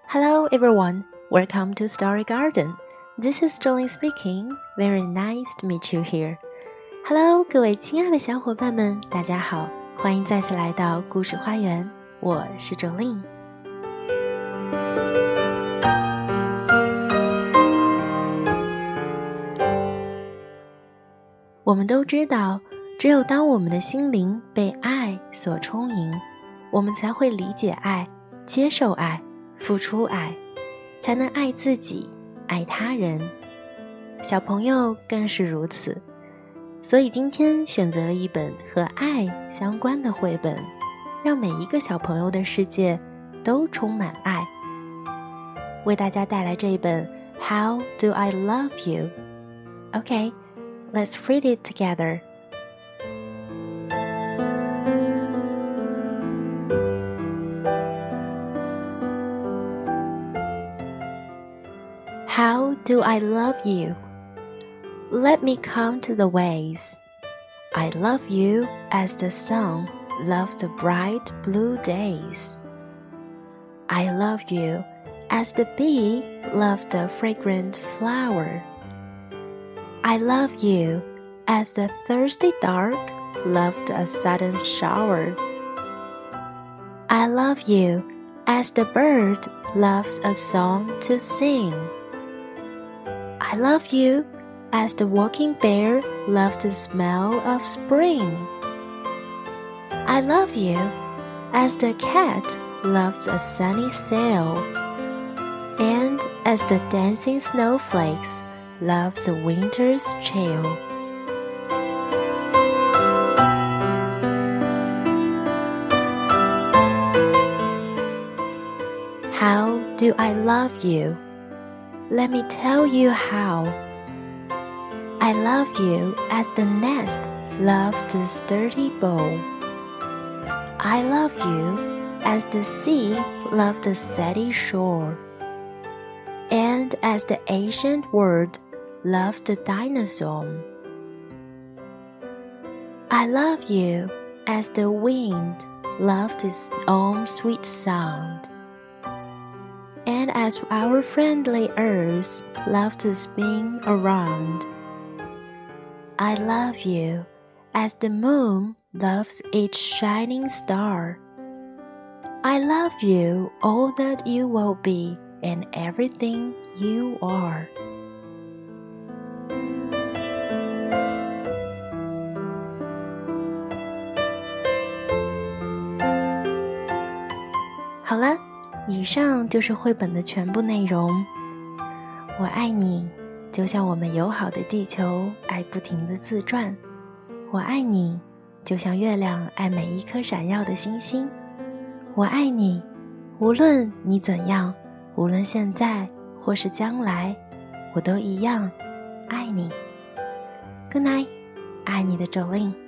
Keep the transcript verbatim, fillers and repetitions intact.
Hello everyone, welcome to Story Garden. This is Jolene speaking. Very nice to meet you here. Hello， 各位亲爱的小伙伴们，大家好，欢迎再次来到故事花园，我是 Jolene。我们都知道，只有当我们的心灵被爱所充盈，我们才会理解爱、接受爱、付出爱，才能爱自己、爱他人。小朋友更是如此。所以今天选择了一本和爱相关的绘本，让每一个小朋友的世界都充满爱。为大家带来这一本 How Do I Love You? Okay, let's read it together. How do I love you? Let me count the ways. I love you as the sun loves the bright blue days. I love you as the bee loves the fragrant flower. I love you as the thirsty dark loves a sudden shower. I love you as the bird loves a song to sing. I love you as the walking bear loves the smell of spring. I love you as the cat loves a sunny sail, and as the dancing snowflakes loves a winter's chill. How do I love you? Let me tell you how.I love you as the nest loves the sturdy bough. I love you as the sea loves the sandy shore, and as the ancient world loves the dinosaur. I love you as the wind loves its own sweet sound, and as our friendly earth loves to spin around.I love you as the moon loves each shining star. I love you all that you will be and everything you are. 好了，以上就是绘本的全部内容。我爱你。就像我们友好的地球爱不停地自转，我爱你，就像月亮爱每一颗闪耀的星星。我爱你，无论你怎样，无论现在或是将来，我都一样爱你。Good night， 爱你的Jolene。